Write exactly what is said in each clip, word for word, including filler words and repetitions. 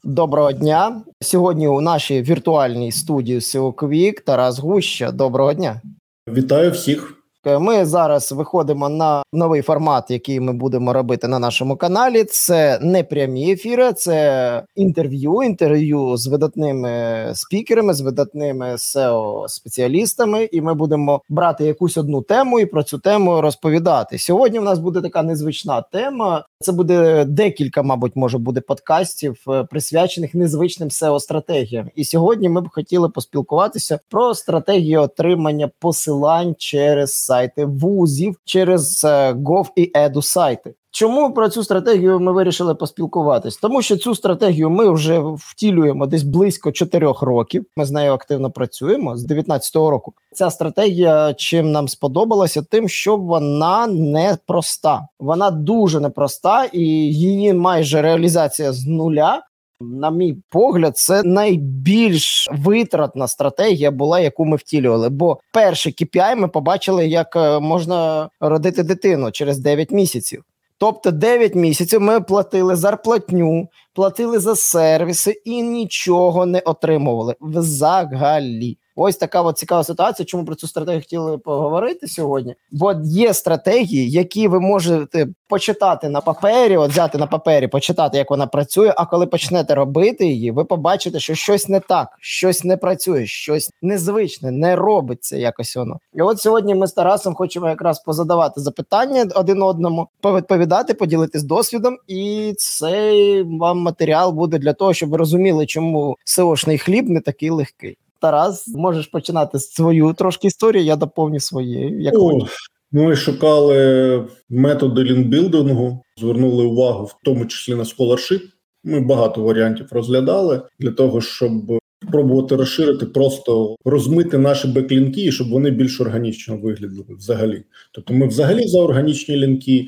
Доброго дня. Сьогодні у нашій віртуальній студії ес і о Quick Тарас Гуща. Доброго дня. Вітаю всіх. Ми зараз виходимо на новий формат, який ми будемо робити на нашому каналі. Це не прямі ефіри, це інтерв'ю, інтерв'ю з видатними спікерами, з видатними сео-спеціалістами, і ми будемо брати якусь одну тему і про цю тему розповідати. Сьогодні в нас буде така незвична тема. Це буде декілька, мабуть, може буде подкастів, присвячених незвичним сео-стратегіям. І сьогодні ми б хотіли поспілкуватися про стратегію отримання посилань через сайти вузів, через Gov і Edu сайти. Чому про цю стратегію ми вирішили поспілкуватись? Тому що цю стратегію ми вже втілюємо десь близько чотирьох років. Ми з нею активно працюємо з дев'ятнадцятого року. Ця стратегія чим нам сподобалася? Тим, що вона непроста. Вона дуже непроста і її майже реалізація з нуля. На мій погляд, це найбільш витратна стратегія була, яку ми втілювали. Бо перший кей пі ай ми побачили, як можна родити дитину через дев'ять місяців. Тобто дев'ять місяців ми платили зарплатню, платили за сервіси і нічого не отримували взагалі. Ось така от цікава ситуація, чому про цю стратегію хотіли поговорити сьогодні. Бо є стратегії, які ви можете почитати на папері, от взяти на папері, почитати, як вона працює, а коли почнете робити її, ви побачите, що щось не так, щось не працює, щось незвичне, не робиться якось воно. І от сьогодні ми з Тарасом хочемо якраз позадавати запитання один одному, повідповідати, поділитись досвідом, і цей вам матеріал буде для того, щоб ви розуміли, чому сеошний хліб не такий легкий. Тарас, можеш починати свою трошки історію, я доповню своєю. Як О, ми шукали методи лінкбілдингу, звернули увагу в тому числі на scholarship. Ми багато варіантів розглядали для того, щоб спробувати розширити, просто розмити наші беклінки, і щоб вони більш органічно виглядали взагалі. Тобто ми взагалі за органічні лінки,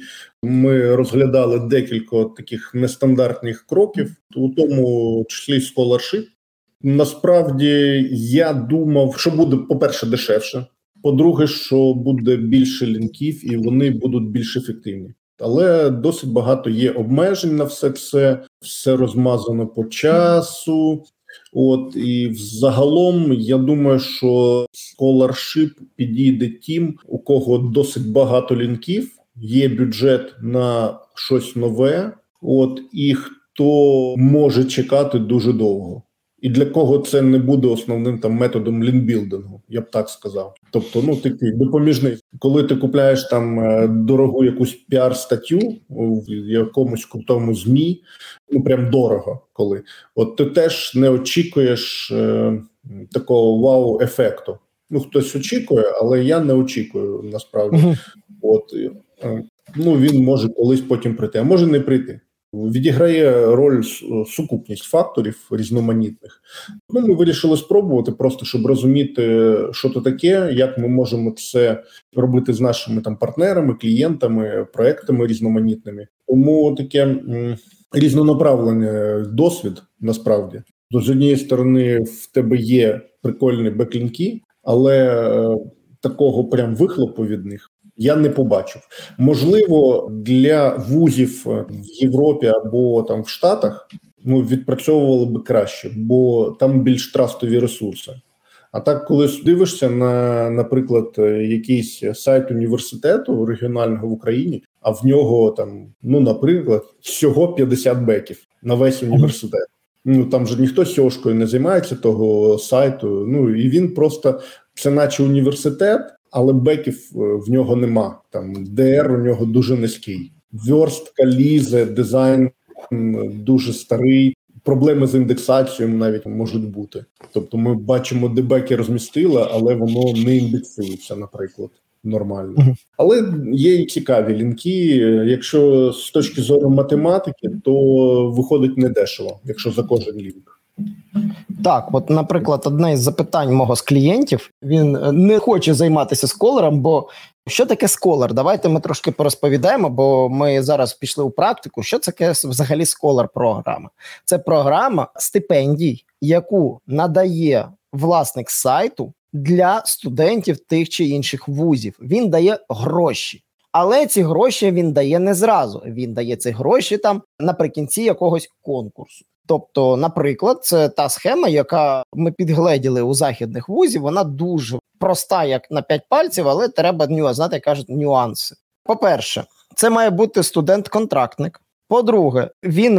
ми розглядали декілька таких нестандартних кроків, у тому числі scholarship. Насправді, я думав, що буде, по-перше, дешевше, по-друге, що буде більше лінків і вони будуть більш ефективні. Але досить багато є обмежень на все це, все розмазано по часу. От, і взагалом, я думаю, що scholarship підійде тим, у кого досить багато лінків, є бюджет на щось нове, от, і хто може чекати дуже довго. І для кого це не буде основним там методом лінкбілдингу, я б так сказав. Тобто, ну, такий допоміжний. Коли ти купляєш там дорогу якусь піар-статтю в якомусь крутому ЗМІ, ну, прям дорого коли, от ти теж не очікуєш е, такого вау-ефекту. Ну, хтось очікує, але я не очікую, насправді. Uh-huh. От, е, ну, він може колись потім прийти, а може не прийти. Відіграє роль сукупність факторів різноманітних. Ну, ми вирішили спробувати просто, щоб розуміти, що це таке, як ми можемо це робити з нашими там партнерами, клієнтами, проектами різноманітними. Тому таке м, різнонаправлений досвід, насправді. З однієї сторони, в тебе є прикольні беклінки, але е, такого прям вихлопу від них я не побачив. Можливо, для вузів в Європі або там в Штатах ну, відпрацьовували би краще, бо там більш трастові ресурси. А так, коли дивишся на, наприклад, якийсь сайт університету регіонального в Україні, а в нього там, ну, наприклад, всього п'ятдесят беків на весь університет. Ну, там же ніхто сьошкою не займається того сайту. Ну, і він просто, це наче університет, але беків в нього нема. Там ді ар у нього дуже низький. Верстка лізе, дизайн дуже старий. Проблеми з індексацією навіть можуть бути. Тобто ми бачимо, де беки розмістили, але воно не індексується, наприклад, нормально. Uh-huh. Але є і цікаві лінки. Якщо з точки зору математики, то виходить недешево, якщо за кожен лінк. Так, от, наприклад, одне із запитань мого з клієнтів, він не хоче займатися сколером, бо що таке сколер? Давайте ми трошки порозповідаємо, бо ми зараз пішли у практику. Що це таке взагалі сколер-програма? Це програма стипендій, яку надає власник сайту для студентів тих чи інших вузів. Він дає гроші. Але ці гроші він дає не зразу. Він дає ці гроші там наприкінці якогось конкурсу. Тобто, наприклад, це та схема, яка ми підгледіли у західних вузів, вона дуже проста, як на п'ять пальців, але треба нюанс, знаєте, як кажуть, нюанси. По-перше, це має бути студент-контрактник. По-друге, він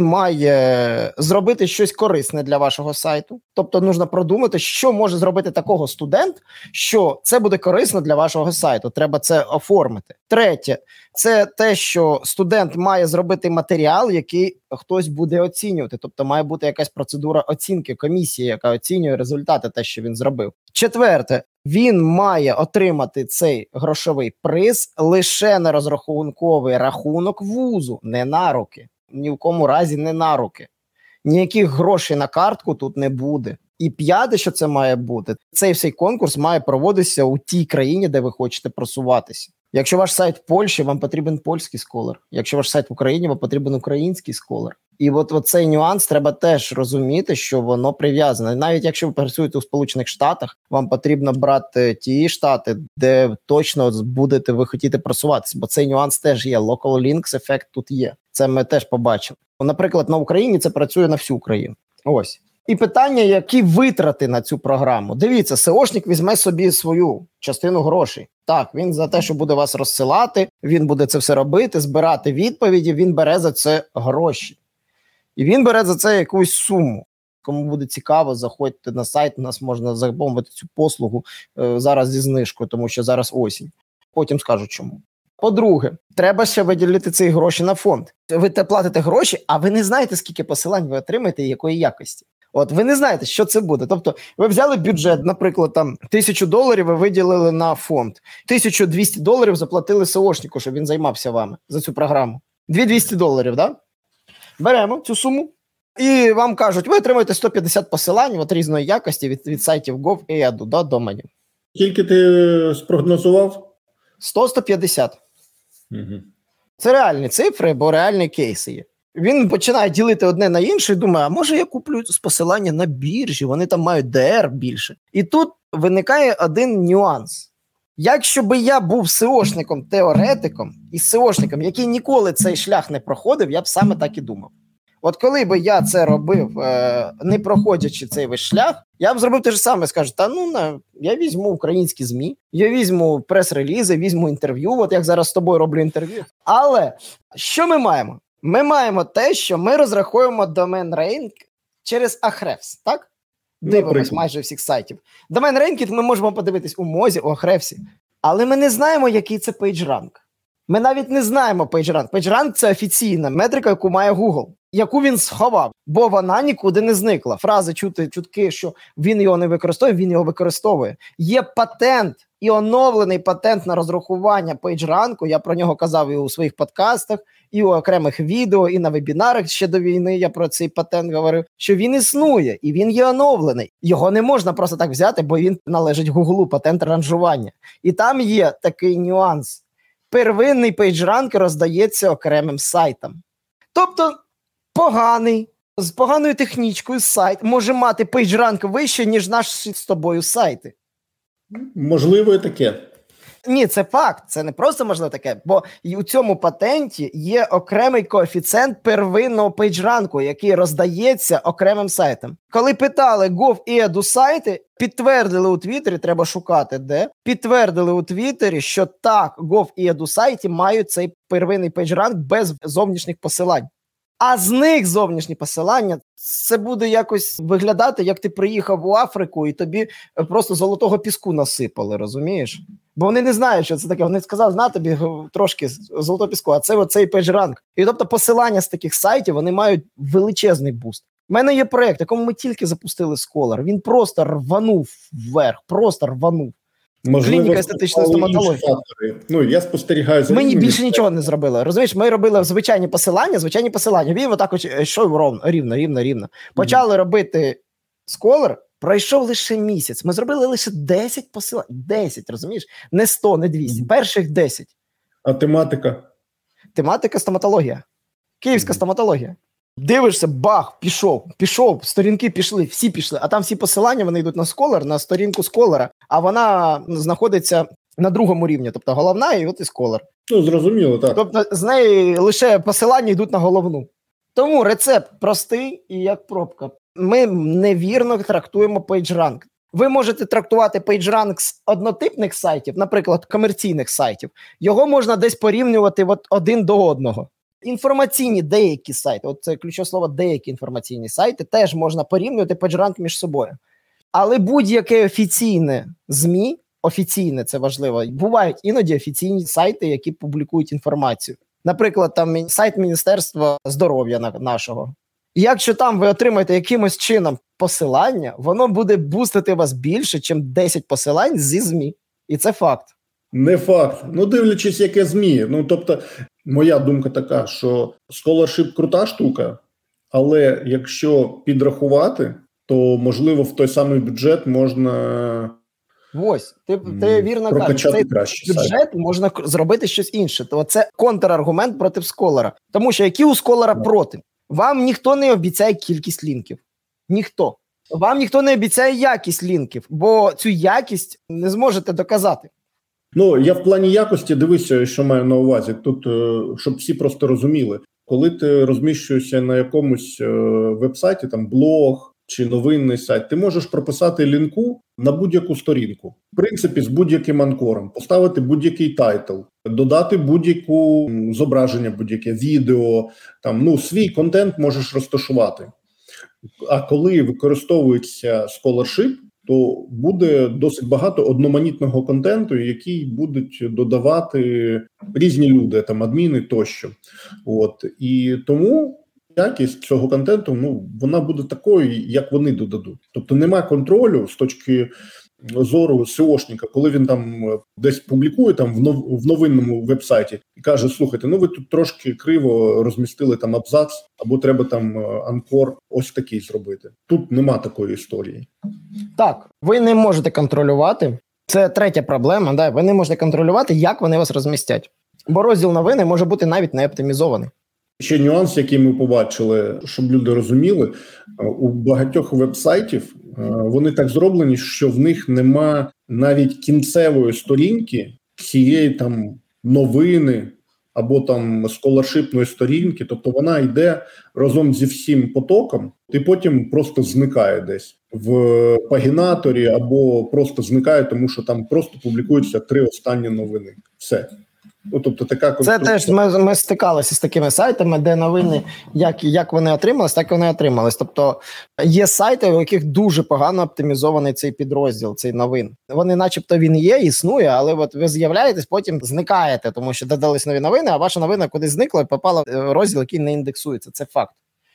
має зробити щось корисне для вашого сайту. Тобто, потрібно продумати, що може зробити такого студент, що це буде корисно для вашого сайту. Треба це оформити. Третє, це те, що студент має зробити матеріал, який хтось буде оцінювати. Тобто, має бути якась процедура оцінки, комісії, яка оцінює результати, те, що він зробив. Четверте, він має отримати цей грошовий приз лише на розрахунковий рахунок вузу, не на руки. Ні в кому разі не на руки. Ніяких грошей на картку тут не буде. І п'яте, що це має бути, цей всей конкурс має проводитися у тій країні, де ви хочете просуватися. Якщо ваш сайт в Польщі, вам потрібен польський сколар. Якщо ваш сайт в Україні, вам потрібен український сколар. І от, от цей нюанс треба теж розуміти, що воно прив'язане. Навіть якщо ви працюєте у Сполучених Штатах, вам потрібно брати ті штати, де точно будете ви хотіти просуватися. Бо цей нюанс теж є. Local links ефект тут є. Це ми теж побачили. Наприклад, на Україні це працює на всю Україну. Ось. І питання, які витрати на цю програму. Дивіться, сеошник візьме собі свою частину грошей. Так, він за те, що буде вас розсилати, він буде це все робити, збирати відповіді, він бере за це гроші. І він бере за це якусь суму. Кому буде цікаво, заходьте на сайт, у нас можна замовити цю послугу е, зараз зі знижкою, тому що зараз осінь. Потім скажу чому. По-друге, треба ще виділити ці гроші на фонд. Ви платите гроші, а ви не знаєте, скільки посилань ви отримаєте і якої якості. От ви не знаєте, що це буде. Тобто ви взяли бюджет, наприклад, там тисячу доларів ви виділили на фонд. тисячу двісті доларів заплатили сеошнику, щоб він займався вами за цю програму. дві тисячі двісті доларів, так? Да? Беремо цю суму і вам кажуть, ви отримаєте сто п'ятдесят посилань от різної якості від, від сайтів Gov і Edu до доменів. Скільки ти спрогнозував? сто - сто п'ятдесят. Угу. Це реальні цифри, бо реальні кейси є. Він починає ділити одне на інше і думає, а може я куплю з посилання на біржі, вони там мають ді ар більше. І тут виникає один нюанс. Якщо би я був сеошником-теоретиком і сеошником, який ніколи цей шлях не проходив, я б саме так і думав. От коли би я це робив, е, не проходячи цей весь шлях, я б зробив те ж саме, скажу, та ну, на, я візьму українські ЗМІ, я візьму прес-релізи, візьму інтерв'ю, от як зараз з тобою роблю інтерв'ю. Але що ми маємо? Ми маємо те, що ми розраховуємо домен рейнг через Ahrefs, так? Дивимось майже всіх сайтів. Домен рейнкінг ми можемо подивитись у Мозі, у Ahrefs, але ми не знаємо, який це PageRank. Ми навіть не знаємо PageRank. PageRank – це офіційна метрика, яку має Google, яку він сховав, бо вона нікуди не зникла. Фрази чути, чутки, що він його не використовує, він його використовує. Є патент і оновлений патент на розрахування PageRank, я про нього казав і у своїх подкастах, і у окремих відео, і на вебінарах ще до війни я про цей патент говорив, що він існує, і він є оновлений. Його не можна просто так взяти, бо він належить Гуглу, патент ранжування. І там є такий нюанс. Первинний PageRank роздається окремим сайтам. Тобто поганий, з поганою технічкою сайт може мати PageRank вище, ніж наші з тобою сайти. Можливо і таке. Ні, це факт, це не просто можливо таке, бо і у цьому патенті є окремий коефіцієнт первинного PageRank, який роздається окремим сайтам. Коли питали Gov і Edu сайти, підтвердили у Твіттері, треба шукати де, підтвердили у Твіттері, що так, Gov і Edu сайти мають цей первинний PageRank без зовнішніх посилань. А з них зовнішні посилання, це буде якось виглядати, як ти приїхав у Африку і тобі просто золотого піску насипали, розумієш? Бо вони не знають, що це таке. Вони сказали, на тобі трошки золотого піску, а це оцей PageRank. І тобто посилання з таких сайтів, вони мають величезний буст. У мене є проєкт, якому ми тільки запустили Scholar. Він просто рванув вверх, просто рванув. Можливо, клініка естетичної стоматології. Ну, я спостерігаю за Ми ними. більше нічого не зробили. Розумієш, ми робили звичайні посилання, звичайні посилання. Він отак от йшов ровно, рівно, рівно, рівно. Почали mm-hmm. робити Scholar, пройшов лише місяць. Ми зробили лише десять посилань. десять, розумієш? Не сто, не двісті. Mm-hmm. Перших десять. А тематика? Тематика стоматологія. Київська mm-hmm. стоматологія. Дивишся, бах, пішов, пішов, сторінки пішли, всі пішли, а там всі посилання, вони йдуть на Scholar, на сторінку Scholar, а вона знаходиться на другому рівні, тобто головна і от і Scholar. Ну, зрозуміло, так. Тобто з неї лише посилання йдуть на головну. Тому рецепт простий і як пробка. Ми невірно трактуємо PageRank. Ви можете трактувати PageRank з однотипних сайтів, наприклад, комерційних сайтів. Його можна десь порівнювати от один до одного. Інформаційні деякі сайти, от це ключове слово деякі інформаційні сайти, теж можна порівнювати PageRank між собою. Але будь-яке офіційне ЗМІ, офіційне, це важливо, бувають іноді офіційні сайти, які публікують інформацію. Наприклад, там сайт Міністерства здоров'я нашого. І якщо там ви отримаєте якимось чином посилання, воно буде бустити вас більше, ніж десять посилань зі ЗМІ. І це факт. Не факт. Ну, дивлячись, яке ЗМІ. Ну, тобто, моя думка така, що Scholarship – крута штука, але якщо підрахувати, то, можливо, в той самий бюджет можна... Ось, ти, ти вірно кажеш, цей бюджет сайт. Можна зробити щось інше. То це контраргумент проти Scholar. Тому що які у Scholar проти? Вам ніхто не обіцяє кількість лінків. Ніхто. Вам ніхто не обіцяє якість лінків, бо цю якість не зможете доказати. Ну, я в плані якості, дивися, що маю на увазі. Тут, щоб всі просто розуміли. Коли ти розміщуєшся на якомусь веб-сайті, там блог чи новинний сайт, ти можеш прописати лінку на будь-яку сторінку. В принципі, з будь-яким анкором. Поставити будь-який тайтл, додати будь-яку зображення, будь-яке відео. Там, ну, свій контент можеш розташувати. А коли використовується Scholarship, то буде досить багато одноманітного контенту, який будуть додавати різні люди, там адміни тощо. От. І тому якість цього контенту, ну, вона буде такою, як вони додадуть. Тобто нема контролю з точки зору сеошника, коли він там десь публікує там в, нов, в новинному веб-сайті і каже, слухайте, ну ви тут трошки криво розмістили там абзац, або треба там анкор ось такий зробити. Тут нема такої історії. Так, ви не можете контролювати. Це третя проблема, да? Ви не можете контролювати, як вони вас розмістять. Бо розділ новини може бути навіть не оптимізований. Ще нюанс, який ми побачили, щоб люди розуміли, у багатьох веб-сайтів вони так зроблені, що в них нема навіть кінцевої сторінки цієї там новини або там сколаршипної сторінки, тобто вона йде разом зі всім потоком і потім просто зникає десь в пагінаторі або просто зникає, тому що там просто публікуються три останні новини. Все. Ну, тобто така конструкція. Це теж ми, ми стикалися з такими сайтами, де новини, як, як вони отримались, так і вони отримались. Тобто є сайти, у яких дуже погано оптимізований цей підрозділ, цей новин. Вони начебто він є, існує, але от ви з'являєтесь, потім зникаєте, тому що додались нові новини, а ваша новина кудись зникла і попала в розділ, який не індексується. Це факт.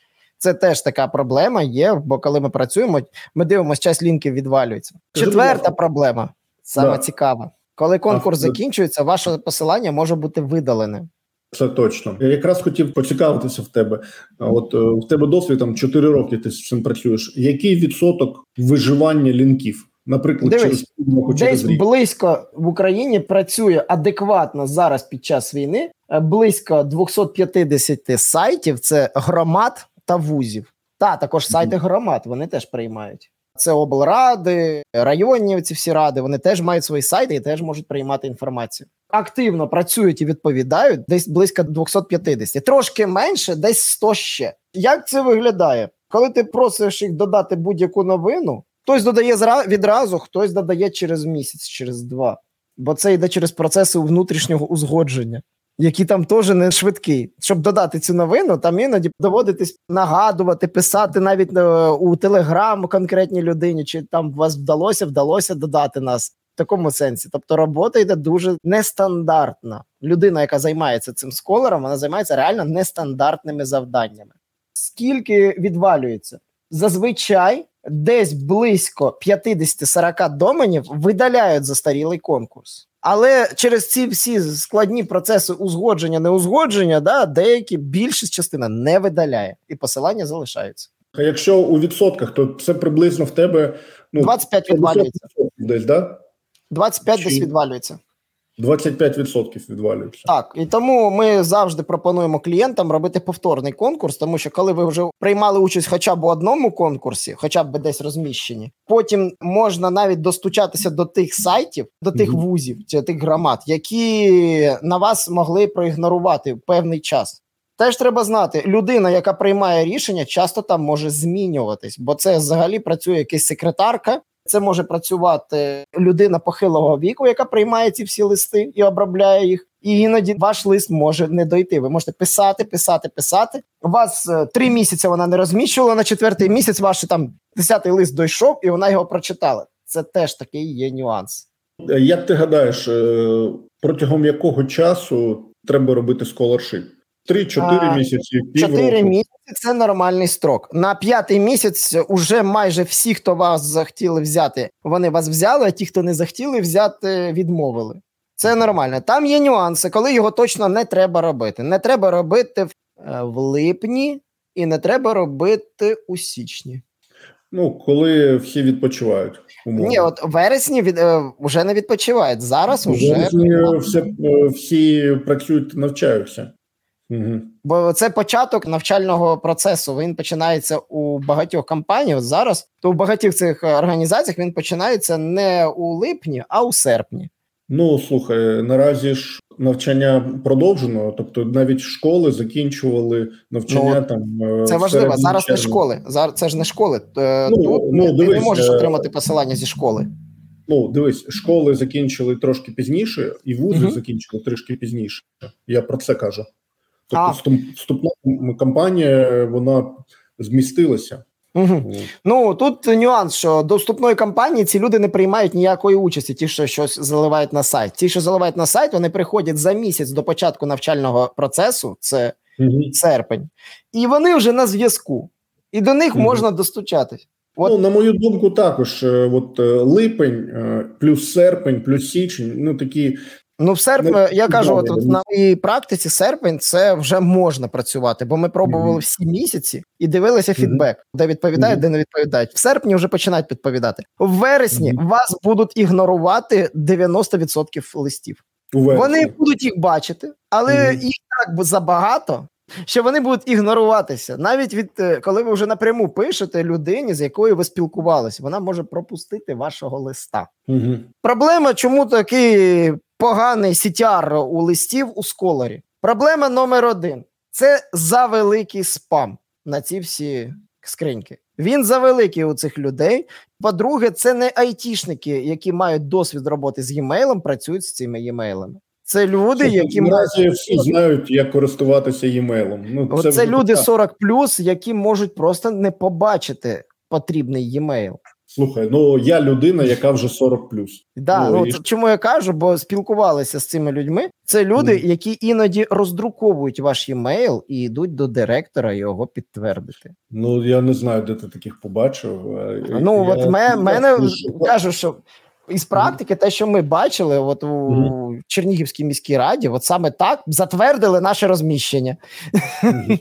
Це теж така проблема є, бо коли ми працюємо, ми дивимося, часть лінків відвалюється. Четверта проблема, саме да. цікава. Коли конкурс а, закінчується, ваше посилання може бути видалене. Це точно. Я якраз хотів поцікавитися в тебе. От в тебе досвід, там, чотири роки ти з цим працюєш. Який відсоток виживання лінків? Наприклад, Дивись, через півроку, через десь рік? Близько в Україні працює адекватно зараз під час війни близько двісті п'ятдесят сайтів, це громад та вузів. Та, також сайти громад, вони теж приймають. Це облради, районні ці всі ради, вони теж мають свої сайти і теж можуть приймати інформацію. Активно працюють і відповідають десь близько двісті п'ятдесят. Трошки менше, десь сто ще. Як це виглядає? Коли ти просиш їх додати будь-яку новину, хтось додає відразу, хтось додає через місяць, через два. Бо це йде через процеси внутрішнього узгодження, які там теж не швидкі. Щоб додати цю новину, там іноді доводитись нагадувати, писати навіть у Телеграм конкретній людині, чи там вас вдалося, вдалося додати нас. В такому сенсі. Тобто робота йде дуже нестандартна. Людина, яка займається цим сколером, вона займається реально нестандартними завданнями. Скільки відвалюється? Зазвичай десь близько п'ятдесят-сорок доменів видаляють застарілий конкурс. Але через ці всі складні процеси узгодження, неузгодження, да, деякі, більшість частина не видаляє, і посилання залишаються. А якщо у відсотках, то це приблизно в тебе... Ну, двадцять п'ять відвалюється. Десь, да? двадцять п'ять десь відвалюється. двадцять п'ять відсотків відвалюється. Так, і тому ми завжди пропонуємо клієнтам робити повторний конкурс, тому що коли ви вже приймали участь хоча б у одному конкурсі, хоча б десь розміщені, потім можна навіть достучатися до тих сайтів, до тих mm-hmm. вузів, чи тих громад, які на вас могли проігнорувати певний час. Теж треба знати, людина, яка приймає рішення, часто там може змінюватись, бо це взагалі працює якась секретарка, це може працювати людина похилого віку, яка приймає ці всі листи і обробляє їх. І іноді ваш лист може не дойти. Ви можете писати, писати, писати. У вас е, три місяці вона не розміщувала, на четвертий місяць ваш там десятий лист дійшов, і вона його прочитала. Це теж такий є нюанс. Як ти гадаєш, протягом якого часу треба робити scholarship? Три-чотири місяці, півроку? Чотири місяці – це нормальний строк. На п'ятий місяць уже майже всі, хто вас захотіли взяти, вони вас взяли, а ті, хто не захотіли взяти, відмовили. Це нормально. Там є нюанси, коли його точно не треба робити. Не треба робити в, в липні і не треба робити у січні. Ну, коли всі відпочивають. Умовно. Ні, от у вересні від, е, вже не відпочивають. Зараз у вже... вересні всі, всі працюють, навчаються. Угу. Бо це початок навчального процесу. Він починається у багатьох компаніях. Зараз то у багатьох цих організаціях він починається не у липні, а у серпні. Ну, слухай, наразі ж навчання продовжено, тобто навіть школи закінчували навчання ну, там. Це важливо, зараз не школи, зараз це ж не школи. Ну, Тут ну, ти дивись, не можеш отримати посилання зі школи. Ну, дивись, школи закінчили трошки пізніше, і вузи угу. закінчили трішки пізніше. Я про це кажу. Тобто вступна кампанія, вона змістилася. Угу. Ну, тут нюанс, що до вступної кампанії ці люди не приймають ніякої участі, ті, що щось заливають на сайт. Ті, що заливають на сайт, вони приходять за місяць до початку навчального процесу, це угу. серпень, і вони вже на зв'язку, і до них угу. можна достучатись. От. Ну, на мою думку, також, от липень, плюс серпень, плюс січень, ну, такі... Ну, в серпні, не, я кажу, от, от на моїй практиці серпень це вже можна працювати, бо ми пробували mm-hmm. всі місяці і дивилися фідбек, mm-hmm. де відповідають, mm-hmm. де не відповідають. В серпні вже починають відповідати. В вересні mm-hmm. вас будуть ігнорувати дев'яносто відсотків листів. Вони будуть їх бачити, але mm-hmm. їх так забагато, що вони будуть ігноруватися. Навіть від коли ви вже напряму пишете людині, з якою ви спілкувалися, вона може пропустити вашого листа. Mm-hmm. Проблема, чому такий поганий сі ті ар у листів у Scholar. Проблема номер один – це завеликий спам на ці всі скриньки. Він завеликий у цих людей. По-друге, це не айтішники, які мають досвід роботи з e-mailом, працюють з цими e-mailами. Це люди, які... Наразі всі знають, як користуватися e-mailом. Ну, це це люди сорок плюс, які можуть просто не побачити потрібний e-mail. Слухай, ну я людина, яка вже сорок плюс. Да, ну, ну і... чому я кажу, бо спілкувалися з цими людьми. Це люди, mm. які іноді роздруковують ваш емейл і йдуть до директора його підтвердити. Ну, я не знаю, де ти таких побачив. Ну, я... от мене, мене кажу, що із практики, те, що ми бачили от у mm. Чернігівській міській раді, от саме так затвердили наше розміщення. Mm.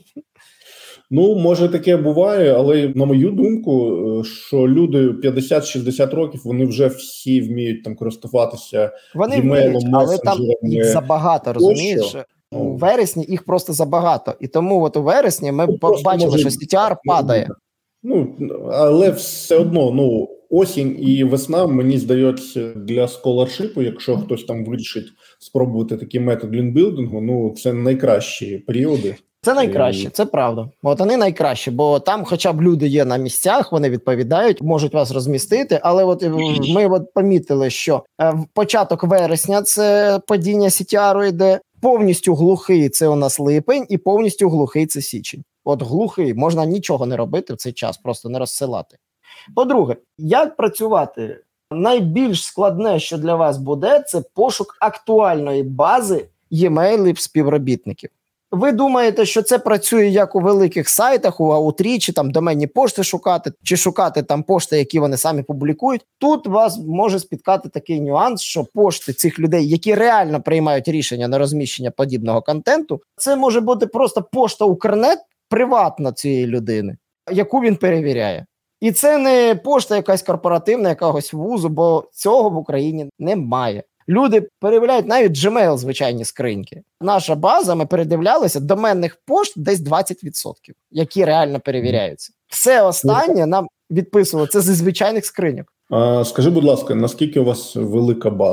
Ну, може таке буває, але на мою думку, що люди п'ятдесят-шістдесят років, вони вже всі вміють там користуватися вони вміють, але там їх забагато, розумієш? У вересні їх просто забагато. І тому от у вересні ми ну, побачили, може... що сі ті ар падає. Ну, але все одно, ну, осінь і весна, мені здається, для сколаршипу, якщо хтось там вирішить спробувати такий метод лінкбілдингу, ну, це найкращі періоди. Це найкраще, це правда. От вони найкращі, бо там хоча б люди є на місцях, вони відповідають, можуть вас розмістити, але от ми от помітили, що в початок вересня це падіння сі ті ар йде, повністю глухий це у нас липень і повністю глухий це січень. От глухий, можна нічого не робити в цей час, просто не розсилати. По-друге, як працювати? Найбільш складне, що для вас буде, це пошук актуальної бази e-mailів співробітників. Ви думаєте, що це працює як у великих сайтах, у Аутрічі, там доменні пошти шукати, чи шукати там пошти, які вони самі публікують. Тут вас може спіткати такий нюанс, що пошти цих людей, які реально приймають рішення на розміщення подібного контенту, це може бути просто пошта Укрнет приватна цієї людини, яку він перевіряє. І це не пошта якась корпоративна, якогось вузу, бо цього в Україні немає. Люди перевіряють навіть Gmail, звичайні скриньки. Наша база, ми передивлялися, доменних пошт десь двадцять відсотків, які реально перевіряються. Все останнє нам відписувало, це зі звичайних скриньок. А, скажи, будь ласка, наскільки у вас велика база?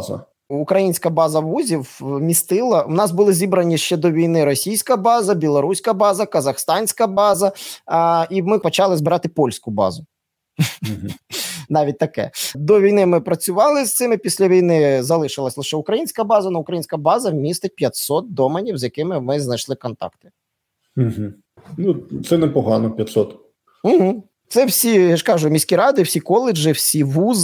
Українська база вузів містила, у нас були зібрані ще до війни російська база, білоруська база, казахстанська база, а, і ми почали збирати польську базу. Mm-hmm. Навіть таке. До війни ми працювали з цими, після війни залишилась лише українська база, але українська база містить п'ятсот доменів, з якими ми знайшли контакти. Mm-hmm. Ну, це непогано, п'ятсот. Угу. Це всі, я ж кажу, міські ради, всі коледжі, всі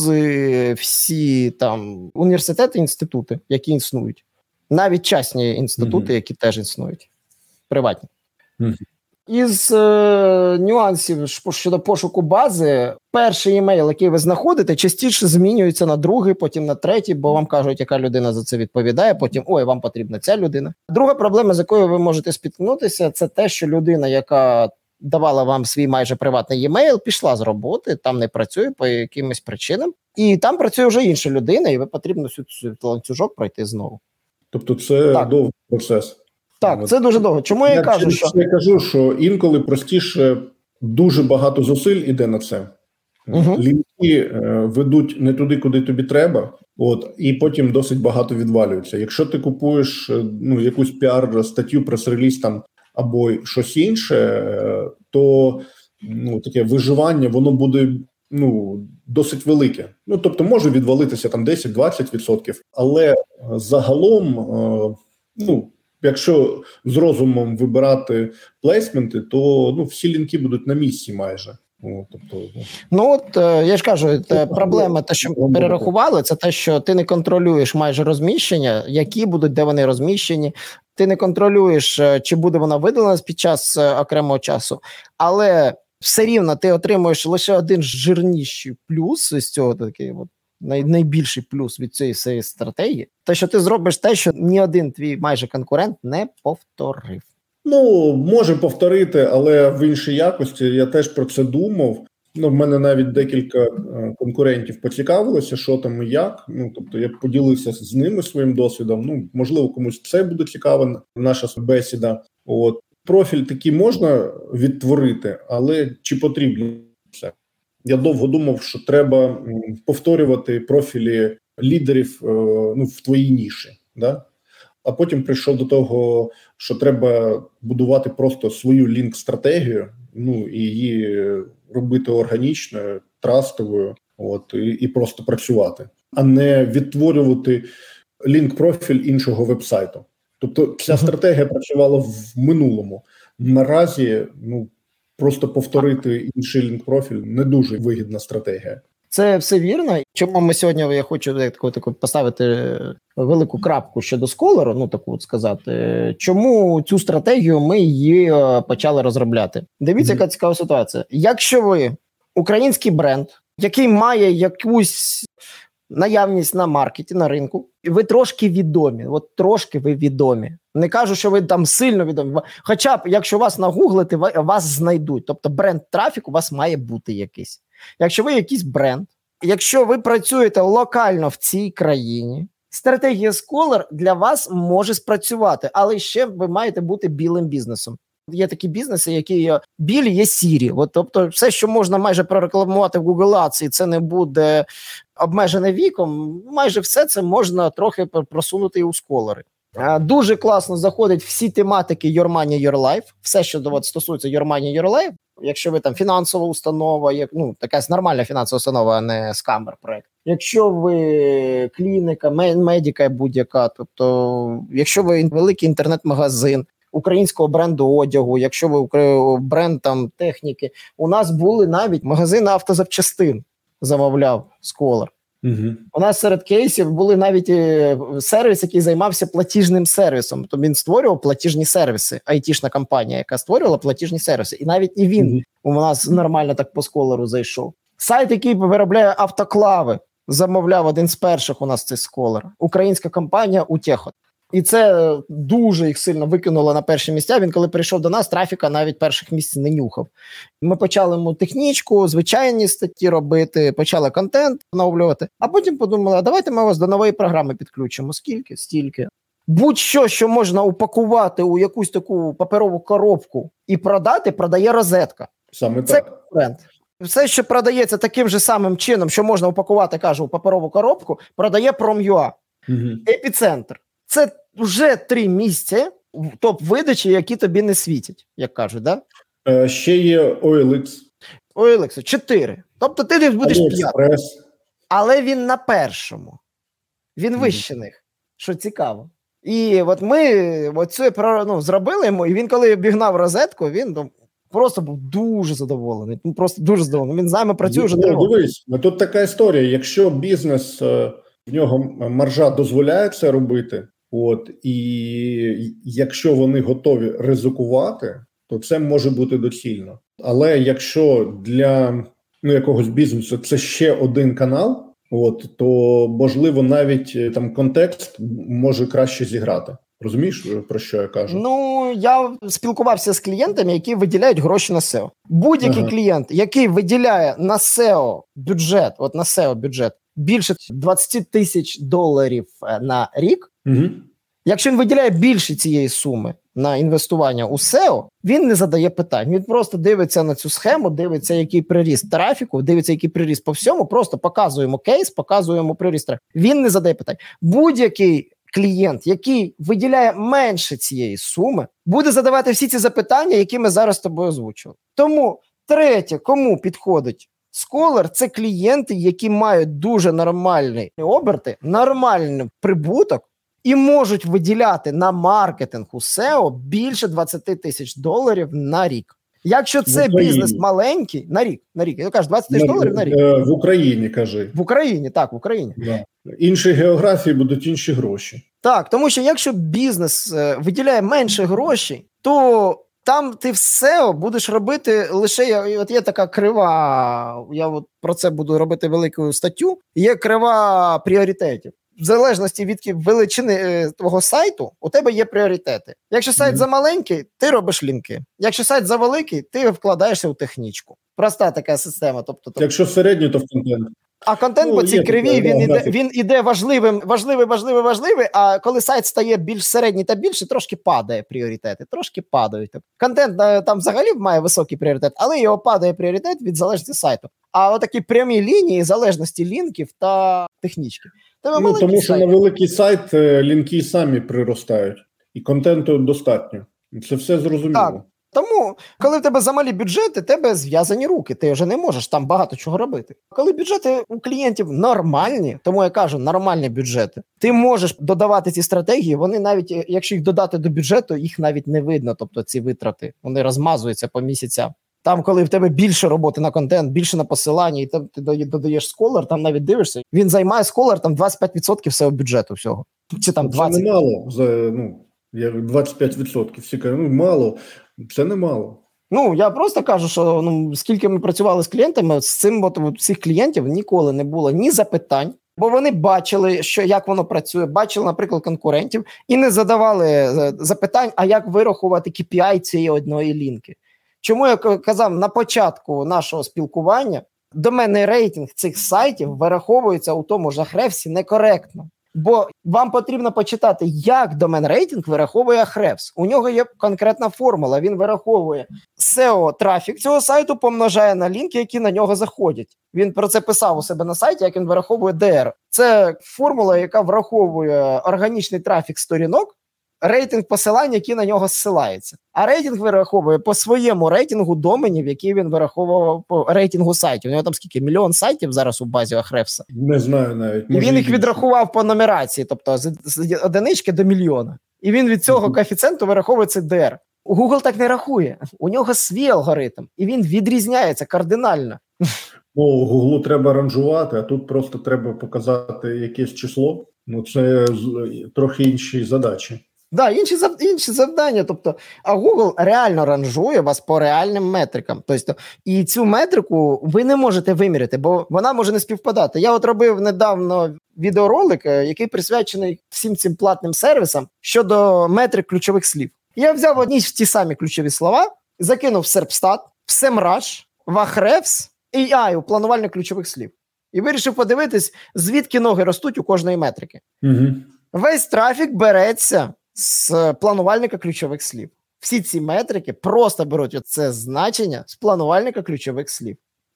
вузи, всі там університети, інститути, які існують. Навіть частні інститути, mm-hmm. які теж існують. Приватні. Mm-hmm. Із е, нюансів щодо пошуку бази, перший імейл, який ви знаходите, частіше змінюється на другий, потім на третій, бо вам кажуть, яка людина за це відповідає, потім, ой, вам потрібна ця людина. Друга проблема, з якою ви можете спіткнутися, це те, що людина, яка давала вам свій майже приватний e-mail, пішла з роботи, там не працює по якимось причинам, і там працює вже інша людина, і ви потрібно всю цю ланцюжок пройти знову. Тобто це так. довгий процес. Так, це дуже довго. Чому я, я кажу, що... Я кажу, що інколи простіше дуже багато зусиль іде на це. Угу. Лінки е, ведуть не туди, куди тобі треба, от, і потім досить багато відвалюється. Якщо ти купуєш ну, якусь піар-статтю, прес-реліз там, або щось інше, то ну, таке виживання, воно буде ну, досить велике. Ну, тобто може відвалитися там десять-двадцять відсотків, але загалом, е, ну, якщо з розумом вибирати плейсменти, то ну, всі лінки будуть на місці майже. О, тобто, ну от я ж кажу, те, проблема, те, що перерахували, це те, що ти не контролюєш майже розміщення, які будуть, де вони розміщені. Ти не контролюєш, чи буде вона видалена під час окремого часу, але все рівно ти отримуєш лише один жирніший плюс з цього, такий от най, найбільший плюс від цієї всієї стратегії, те, що ти зробиш те, що ні один твій майже конкурент не повторив. Ну, може повторити, але в іншій якості. Я теж про це думав. Ну, в мене навіть декілька конкурентів поцікавилося, що там і як. Ну, тобто я поділився з ними своїм досвідом. Ну, можливо, комусь це буде цікава наша бесіда. От. Профіль такий можна відтворити, але чи потрібно це? Я довго думав, що треба повторювати профілі лідерів ну, в твоїй ніші, да? А потім прийшов до того, що треба будувати просто свою лінк-стратегію, ну, і її робити органічною, трастовою, от, і, і просто працювати, а не відтворювати лінк-профіль іншого вебсайту. Тобто ця стратегія працювала в минулому. Наразі, ну, просто повторити інший лінк-профіль не дуже вигідна стратегія. Це все вірно. Чому ми сьогодні, я хочу таку, таку поставити велику крапку щодо Scholar, ну таку от сказати, чому цю стратегію ми її почали розробляти. Дивіться, mm-hmm. яка цікава ситуація. Якщо ви український бренд, який має якусь наявність на маркеті, на ринку, і ви трошки відомі, от трошки ви відомі. Не кажу, що ви там сильно відомі. Хоча б, якщо вас нагуглити, вас знайдуть. Тобто бренд-трафік у вас має бути якийсь. Якщо ви якийсь бренд, якщо ви працюєте локально в цій країні, стратегія Scholar для вас може спрацювати, але ще ви маєте бути білим бізнесом. Є такі бізнеси, які білі, є сірі. От, тобто все, що можна майже прорекламувати в Google Ads, і це не буде обмежене віком, майже все це можна трохи просунути і у Scholar. Дуже класно заходять всі тематики Your Money, Your Life, все, що от, стосується Your Money, Your Life. Якщо ви там фінансова установа, як, ну, якась нормальна фінансова установа, а не скамер проект. Якщо ви клініка, медика будь-яка, тобто, якщо ви великий інтернет-магазин українського бренду одягу, якщо ви бренд там техніки, у нас були навіть магазини автозапчастин, замовляв Scholar. Угу. У нас серед кейсів були навіть сервіс, який займався платіжним сервісом. Тобто він створював платіжні сервіси, айтішна компанія, яка створювала платіжні сервіси. І навіть і він угу. у нас нормально так по Scholar зайшов. Сайт, який виробляє автоклави, замовляв один з перших у нас цей Scholar. Українська компанія Утехот. І це дуже їх сильно викинуло на перші місця. Він, коли прийшов до нас, трафіка навіть перших місць не нюхав. Ми почали йому технічку, звичайні статті робити, почали контент оновлювати, а потім подумали, а давайте ми вас до нової програми підключимо. Скільки? Стільки. Будь-що, що можна упакувати у якусь таку паперову коробку і продати, продає розетка. Саме це так. Бренд. Все, що продається таким же самим чином, що можна упакувати, кажу, у паперову коробку, продає Prom.ua. Угу. Епіцентр. Це вже три місця в топ-видачі, які тобі не світять, як кажуть, да? Е, ще є о ел ікс. о ел ікс, чотири. Тобто ти десь будеш п'ятий. Але він на першому. Він вище них, що цікаво. І от ми оце ну, зробили йому, і він, коли обігнав розетку, він ну, просто був дуже задоволений. Ну, просто дуже задоволений. Він з нами працює вже три роки. Дивись, тут така історія. Якщо бізнес, в нього маржа дозволяє це робити, от, і якщо вони готові ризикувати, то це може бути доцільно. Але якщо для ну, якогось бізнесу це ще один канал, от, то, можливо, навіть там контекст може краще зіграти. Розумієш, про що я кажу? Ну, я спілкувався з клієнтами, які виділяють гроші на сео. Будь-який ага. клієнт, який виділяє на сео бюджет, от на сео бюджет, більше двадцять тисяч доларів на рік, угу. якщо він виділяє більше цієї суми на інвестування у сео, він не задає питань. Він просто дивиться на цю схему, дивиться, який приріст трафіку, дивиться, який приріст по всьому, просто показуємо кейс, показуємо приріст трафіку. Він не задає питань. Будь-який клієнт, який виділяє менше цієї суми, буде задавати всі ці запитання, які ми зараз з тобою озвучили. Тому, третє, кому підходить Scholar, це клієнти, які мають дуже нормальні оберти, нормальний прибуток, і можуть виділяти на маркетинг у сео більше двадцять тисяч доларів на рік. Якщо це бізнес маленький, на рік, на рік, я кажу, двадцять тисяч доларів на рік. В Україні, кажи. В Україні, так, в Україні. Да. Інші географії будуть інші гроші. Так, тому що якщо бізнес е, виділяє менше грошей, то там ти в сео будеш робити лише, от є така крива, я от про це буду робити велику статтю, є крива пріоритетів. В залежності від величини е, твого сайту, у тебе є пріоритети. Якщо сайт mm-hmm. замаленький, ти робиш лінки. Якщо сайт завеликий, ти вкладаєшся у технічку. Проста така система. Тобто, тобто... Якщо середньо, то в контент. А контент ну, по цій криві, він іде, він іде важливим, важливий, важливий, важливий, а коли сайт стає більш середній та більше, трошки падає пріоритети, трошки падають. Контент там взагалі має високий пріоритет, але його падає пріоритет від залежності сайту. А отакі прямі лінії залежності лінків та технічки. Ну, тому що сайт. На великий сайт лінки самі приростають, і контенту достатньо. Це все зрозуміло. Так. Тому, коли в тебе замалі бюджети, тебе зв'язані руки, ти вже не можеш там багато чого робити. Коли бюджети у клієнтів нормальні, тому я кажу, нормальні бюджети, ти можеш додавати ці стратегії, вони навіть, якщо їх додати до бюджету, їх навіть не видно, тобто ці витрати, вони розмазуються по місяцям. Там, коли в тебе більше роботи на контент, більше на посилання, і там ти додаєш Scholar, там навіть дивишся, він займає Scholar там двадцять п'ять відсотків всього бюджету всього. Чи там двадцять відсотків. Це немало, за, ну, двадцять п'ять відсотків, всі кажуть, ну, мало. Це немало. Ну, я просто кажу, що ну, скільки ми працювали з клієнтами, з цим от, от, всіх клієнтів ніколи не було ні запитань, бо вони бачили, що, як воно працює, бачили, наприклад, конкурентів, і не задавали запитань, а як вирахувати кей пі ай цієї одної лінки. Чому я казав на початку нашого спілкування, доменний рейтинг цих сайтів вираховується у тому ж Ahrefs некоректно. Бо вам потрібно почитати, як домен-рейтинг вираховує Ahrefs. У нього є конкретна формула. Він вираховує сео-трафік цього сайту, помножає на лінки, які на нього заходять. Він про це писав у себе на сайті, як він вираховує ді ар. Це формула, яка враховує органічний трафік сторінок, рейтинг посилань, які на нього зсилаються. А рейтинг вираховує по своєму рейтингу доменів, які він вираховував по рейтингу сайтів. У нього там скільки? Мільйон сайтів зараз у базі Ahrefs. Не знаю навіть. І він їх відрахував по нумерації, тобто з, з одинички до мільйона. І він від цього mm-hmm. коефіцієнту вираховує це ді ар. Google так не рахує. У нього свій алгоритм. І він відрізняється кардинально. Ну, Google треба ранжувати, а тут просто треба показати якесь число. Ну, це трохи інші задачі. Да, інші, інші завдання, тобто, а Google реально ранжує вас по реальним метрикам. Тобто, і цю метрику ви не можете виміряти, бо вона може не співпадати. Я от робив недавно відеоролик, який присвячений всім цим платним сервісам щодо метрик ключових слів. Я взяв одні ж ті самі ключові слова, закинув в Serpstat, в SEMrush, в Ahrefs і ей ай у планувальник ключових слів. І вирішив подивитись, звідки ноги ростуть у кожної метрики. Угу. Весь трафік береться з планувальника ключових слів. Всі ці метрики просто беруть оце значення з планувальника ключових слів.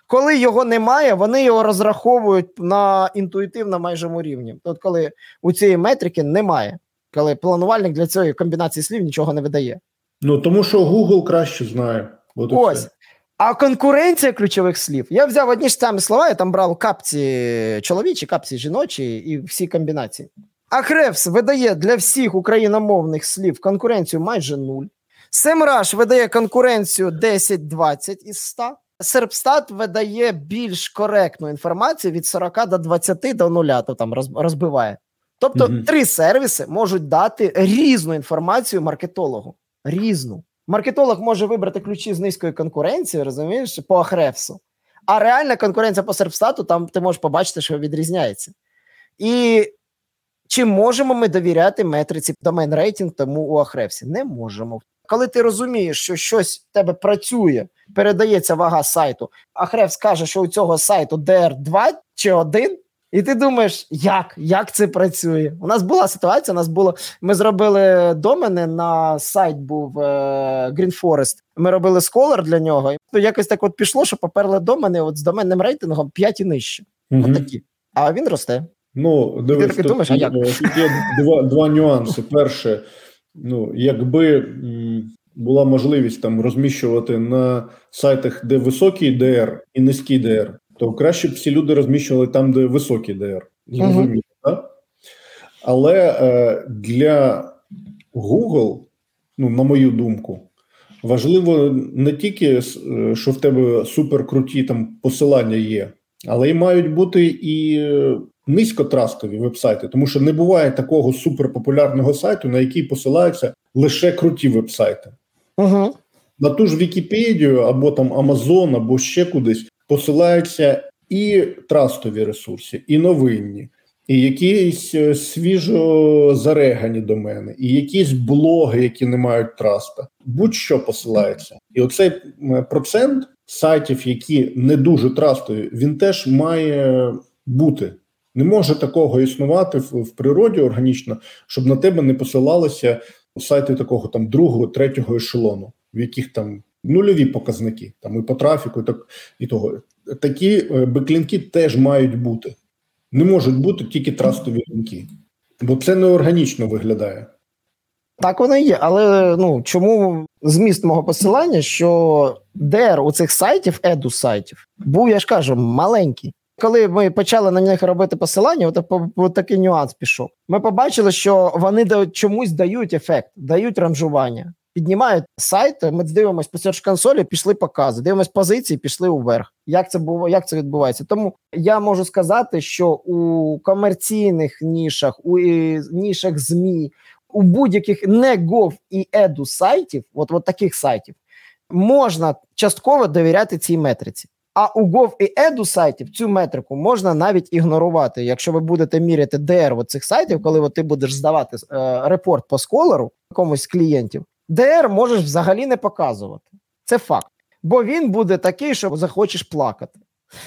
Коли його немає, вони його розраховують на інтуїтивно майжому рівні. От коли у цієї метрики немає, коли планувальник для цієї комбінації слів нічого не видає. Ну, тому що Google краще знає. От Ось. все. А конкуренція ключових слів. Я взяв одні ж самі слова, я там брав капці чоловічі, капці жіночі і всі комбінації. Ahrefs видає для всіх україномовних слів конкуренцію майже нуль. SEMrush видає конкуренцію десять-двадцять із ста. Serpstat видає більш коректну інформацію від сорок до двадцяти до нуля, то там розбиває. Тобто mm-hmm. три сервіси можуть дати різну інформацію маркетологу. Різну. Маркетолог може вибрати ключі з низької конкуренції, розумієш, по Ahrefs. А реальна конкуренція по Serpstat, там ти можеш побачити, що відрізняється. І чи можемо ми довіряти метриці домен рейтинг тому у Ahrefs? Не можемо. Коли ти розумієш, що щось в тебе працює, передається вага сайту, Ahrefs каже, що у цього сайту ді ар два чи один, і ти думаєш, як? Як це працює? У нас була ситуація, у нас було, ми зробили домени, на сайт був е, Green Forest, ми робили Scholar для нього, і якось так от пішло, що поперли домени от з доменним рейтингом п'ять і нижче. Угу. От такі. А він росте. Ну, дивись, ти думаєш, а як? Тут є два, два нюанси. Перше, ну, якби м, була можливість там розміщувати на сайтах, де високий ді ар і низький ді ар, то краще б всі люди розміщували там, де високий ді ар. Зрозуміло, uh-huh. так? Але е, для Google, ну, на мою думку, важливо не тільки, що в тебе суперкруті там посилання є, але й мають бути і низькотрастові веб-сайти, тому що не буває такого суперпопулярного сайту, на який посилаються лише круті веб-сайти. Uh-huh. На ту ж Вікіпедію, або там Amazon, або ще кудись посилаються і трастові ресурси, і новинні, і якісь свіжо зарегані домени, і якісь блоги, які не мають траста. Будь-що посилається. І оцей процент сайтів, які не дуже трастові, він теж має бути. Не може такого існувати в, в природі органічно, щоб на тебе не посилалися сайти такого там другого, третього ешелону, в яких там нульові показники, там і по трафіку, і, так, і того. Такі беклінки теж мають бути. Не можуть бути тільки трастові лінки, бо це неорганічно виглядає. Так воно і є, але ну, чому зміст мого посилання, що ді ар у цих сайтів, еду-сайтів, був, я ж кажу, маленький. Коли ми почали на них робити посилання, от, от такий нюанс пішов. Ми побачили, що вони чомусь дають ефект, дають ранжування. Піднімають сайт, ми дивимося по серч-консолі, пішли покази, дивимося позиції, пішли вверх. Як це було, як це відбувається? Тому я можу сказати, що у комерційних нішах, у нішах ЗМІ, у будь-яких не Gov і Edu сайтів, от, от таких сайтів, можна частково довіряти цій метриці. А у Gov і Edu сайтів цю метрику можна навіть ігнорувати. Якщо ви будете міряти ді ар цих сайтів, коли от ти будеш здавати е, репорт по Scholar комусь з клієнтів, ді ар можеш взагалі не показувати. Це факт. Бо він буде такий, що захочеш плакати.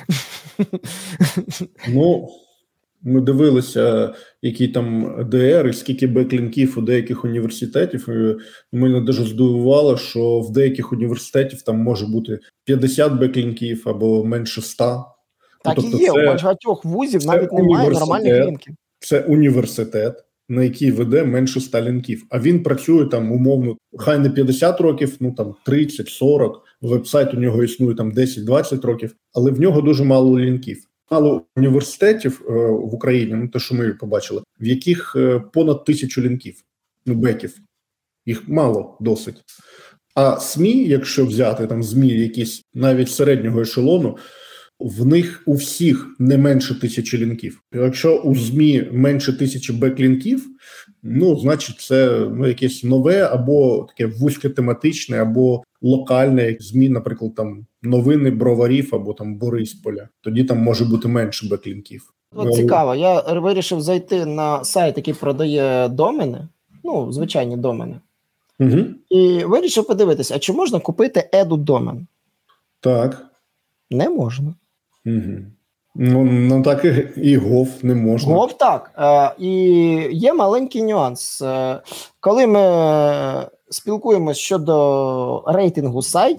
Ну, ми дивилися, які там ді ар і скільки беклінків у деяких університетів. І мене дуже здивувало, що в деяких університетів там може бути п'ятдесят беклінків або менше ста. Так тобто і є, це, у багатьох вузів навіть немає нормальних лінків. Це університет, на який веде менше ста лінків. А він працює там, умовно, хай не п'ятдесят років, ну там тридцять сорок, веб-сайт у нього існує там десять-двадцять років, але в нього дуже мало лінків. Мало університетів е, в Україні, ну те, що ми побачили, в яких е, понад тисячу лінків, ну беків. Їх мало досить. А СМІ, якщо взяти там ЗМІ якісь навіть середнього ешелону, в них у всіх не менше тисячі лінків. Якщо у ЗМІ менше тисячі беклінків, ну, значить, це ну, якесь нове або таке вузькотематичне, або локальне, як ЗМІ, наприклад, там новини Броварів або там Борисполя. Тоді там може бути менше беклінків. От цікаво, я вирішив зайти на сайт, який продає домени, ну, звичайні домени, угу. і вирішив подивитися, а чи можна купити еду-домен? Так. Не можна. Угу. Ну, ну так і, і Gov не можна. Gov так. Е, і є маленький нюанс. Е, коли ми спілкуємося щодо рейтингу сайтів,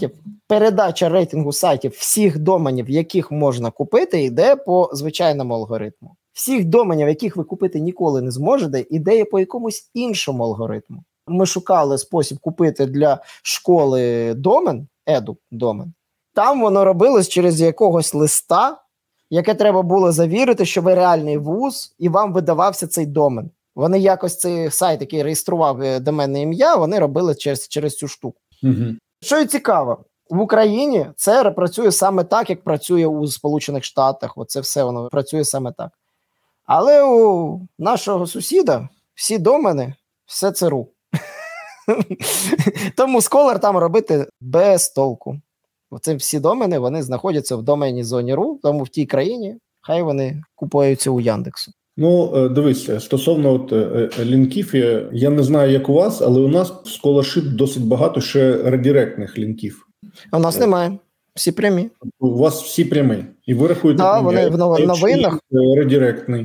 передача рейтингу сайтів всіх доменів, яких можна купити, йде по звичайному алгоритму. Всіх доменів, яких ви купити ніколи не зможете, йде по якомусь іншому алгоритму. Ми шукали спосіб купити для школи домен, еду домен. Там воно робилось через якогось листа, яке треба було завірити, що ви реальний вуз, і вам видавався цей домен. Вони якось цей сайт, який реєстрував доменне ім'я, вони робили через, через цю штуку. Угу. Що і цікаво, в Україні це працює саме так, як працює у Сполучених Штатах. Оце все воно працює саме так. Але у нашого сусіда всі домени, все це ру. Тому Scholar там робити без толку. Оце всі домени, вони знаходяться в домені зоні ру, тому в тій країні хай вони купуються у Яндексу. Ну, дивіться, стосовно от, лінків, я, я не знаю, як у вас, але у нас в Scholarship досить багато ще редиректних лінків. А у нас немає. Всі прямі. У вас всі прямі. І ви рахуєте, да, вони в новинах. Редиректний.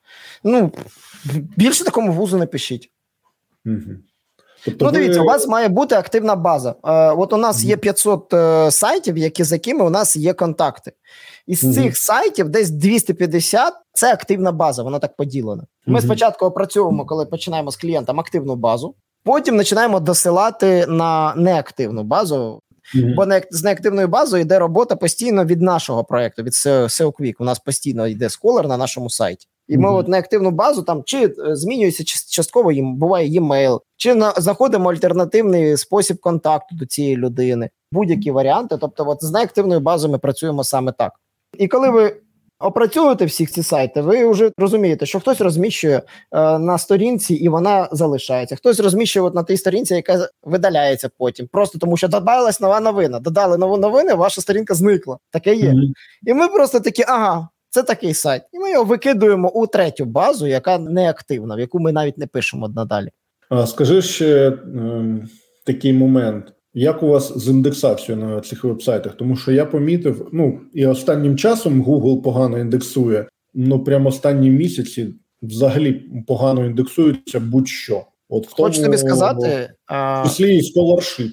Ну, більше такому вузу не пишіть. Угу. Тобто ну, дивіться, ви... у вас має бути активна база. Е, от у нас є п'ятсот е, сайтів, які, з якими у нас є контакти. Із mm-hmm. цих сайтів десь двісті п'ятдесят – це активна база, вона так поділена. Ми mm-hmm. спочатку опрацьовуємо, коли починаємо з клієнтом, активну базу, потім починаємо досилати на неактивну базу, mm-hmm. бо не, з неактивною базою йде робота постійно від нашого проєкту, від сео Quick. У нас постійно йде Scholar на нашому сайті. І ми mm-hmm. от неактивну базу, там чи змінюється частково, їм буває e-mail, чи на, знаходимо альтернативний спосіб контакту до цієї людини, будь-які варіанти. Тобто от з неактивною базою ми працюємо саме так. І коли ви опрацьовуєте всі ці сайти, ви вже розумієте, що хтось розміщує е, на сторінці і вона залишається. Хтось розміщує от на тій сторінці, яка видаляється потім. Просто тому, що додалась нова новина. Додали нову новину, ваша сторінка зникла. Таке є. Mm-hmm. І ми просто такі, ага, це такий сайт. І ми його викидуємо у третю базу, яка неактивна, в яку ми навіть не пишемо надалі. А скажи ще е, такий момент. Як у вас з індексацією на цих веб-сайтах? Тому що я помітив, ну, і останнім часом Google погано індексує, ну, прямо останні місяці взагалі погано індексується будь-що. От в Хочу тому, тобі сказати... В числі і Scholarship.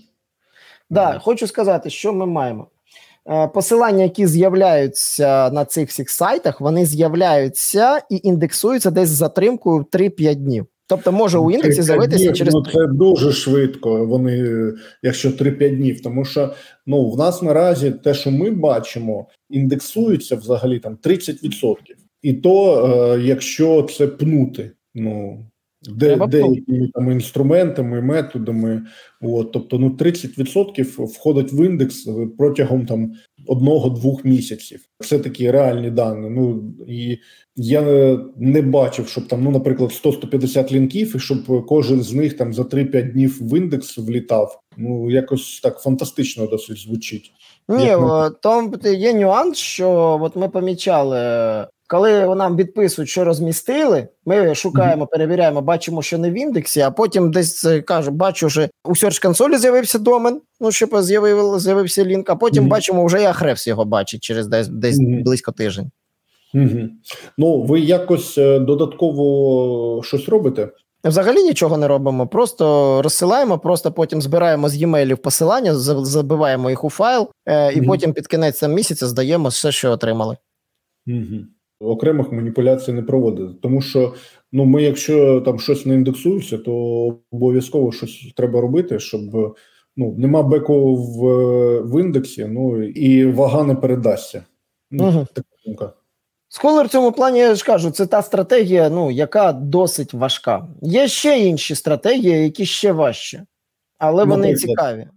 Да, хочу сказати, що ми маємо. Посилання, які з'являються на цих всіх сайтах, вони з'являються і індексуються десь з затримкою в три-п'ять днів. Тобто може у індексі з'явитися через... Ну, це дуже швидко, вони, якщо три-п'ять днів, тому що ну, в нас наразі те, що ми бачимо, індексується взагалі там тридцять відсотків. І то, е, якщо це пнути, ну, де, деякими там інструментами, методами, от, тобто ну, тридцять відсотків входить в індекс протягом там одного-двох місяців. Це такі реальні дані. Ну, і я не бачив, щоб там, ну, наприклад, сто-сто п'ятдесят лінків, і щоб кожен з них там за три-п'ять днів в індекс влітав. Ну, якось так фантастично досить звучить. Ні, ми... там є нюанс, що от ми помічали, коли нам відписують, що розмістили, ми шукаємо, mm-hmm. перевіряємо, бачимо, що не в індексі, а потім десь кажу, бачу, що у Search консолі з'явився домен, ну, щоб з'явив, з'явився лінк, а потім mm-hmm. бачимо, вже і Ahrefs його бачить через десь, десь mm-hmm. близько тиждень. Mm-hmm. Ну, ви якось додатково щось робите? Взагалі нічого не робимо, просто розсилаємо, просто потім збираємо з e-mailів посилання, забиваємо їх у файл, е, і mm-hmm. потім під кінець місяця здаємо все, що отримали. Mm-hmm. Окремих маніпуляцій не проводити, тому що ну ми, якщо там щось не індексується, то обов'язково щось треба робити, щоб ну нема беку в, в індексі, ну і вага не передасться. Ну, угу. Така думка. Scholar в цьому плані, я ж кажу, це та стратегія, ну яка досить важка. Є ще інші стратегії, які ще важчі, але вони Наприклад. цікаві.